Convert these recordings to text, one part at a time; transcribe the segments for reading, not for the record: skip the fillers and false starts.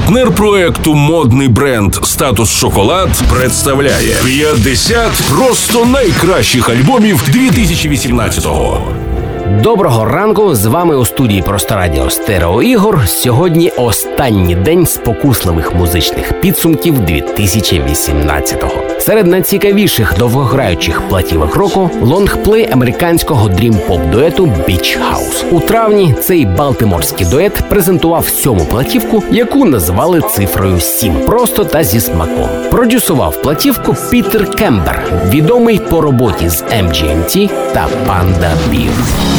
Партнер проекту модний бренд «Статус Шоколад» представляє 50 просто найкращих альбомів 2018-го. Доброго ранку, з вами у студії Просто Радіо Стерео Ігор. Сьогодні останній день спокусливих музичних підсумків 2018-го. Серед найцікавіших довгограючих платівок року – лонгплей американського дрім-поп-дуету Beach House. У травні цей балтиморський дует презентував 7-му платівку, яку назвали цифрою 7. Просто та зі смаком. Продюсував платівку Пітер Кембер, відомий по роботі з MGMT та Panda Bear.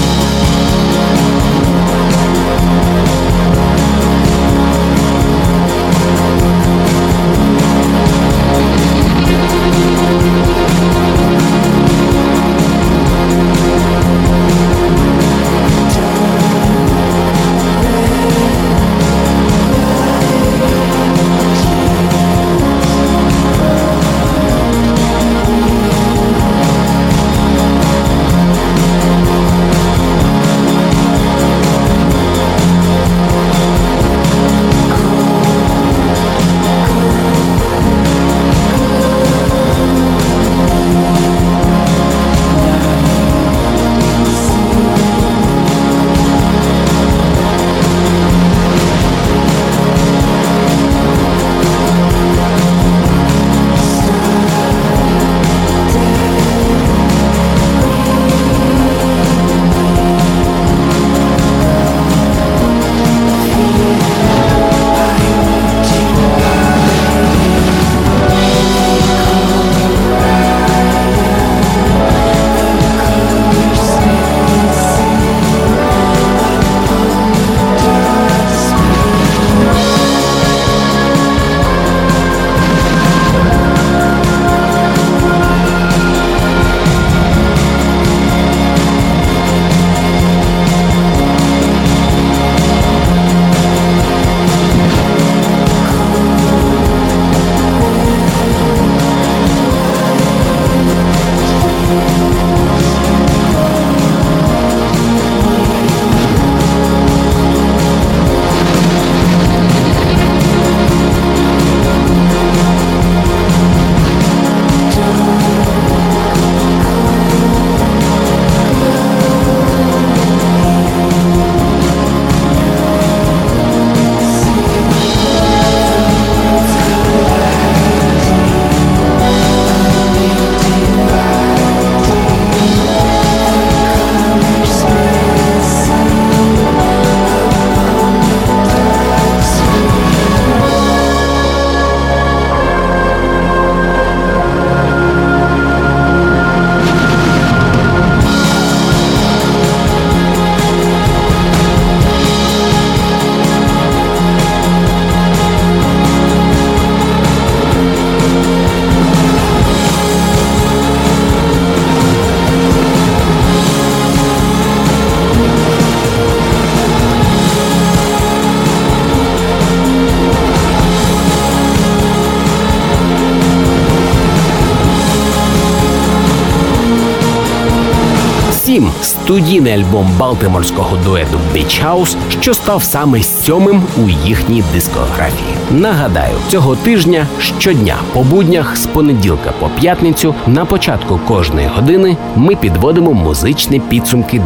Студійний альбом балтиморського дуету Beach House, що став саме 7-м у їхній дискографії. Нагадаю, цього тижня щодня по буднях з понеділка по п'ятницю на початку кожної години ми підводимо музичні підсумки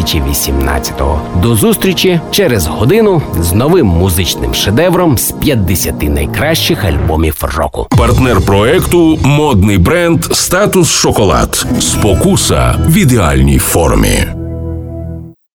2018-го. До зустрічі через годину з новим музичним шедевром з 50 найкращих альбомів року. Партнер проекту модний бренд «Статус Шоколад». Спокуса в ідеальній формі.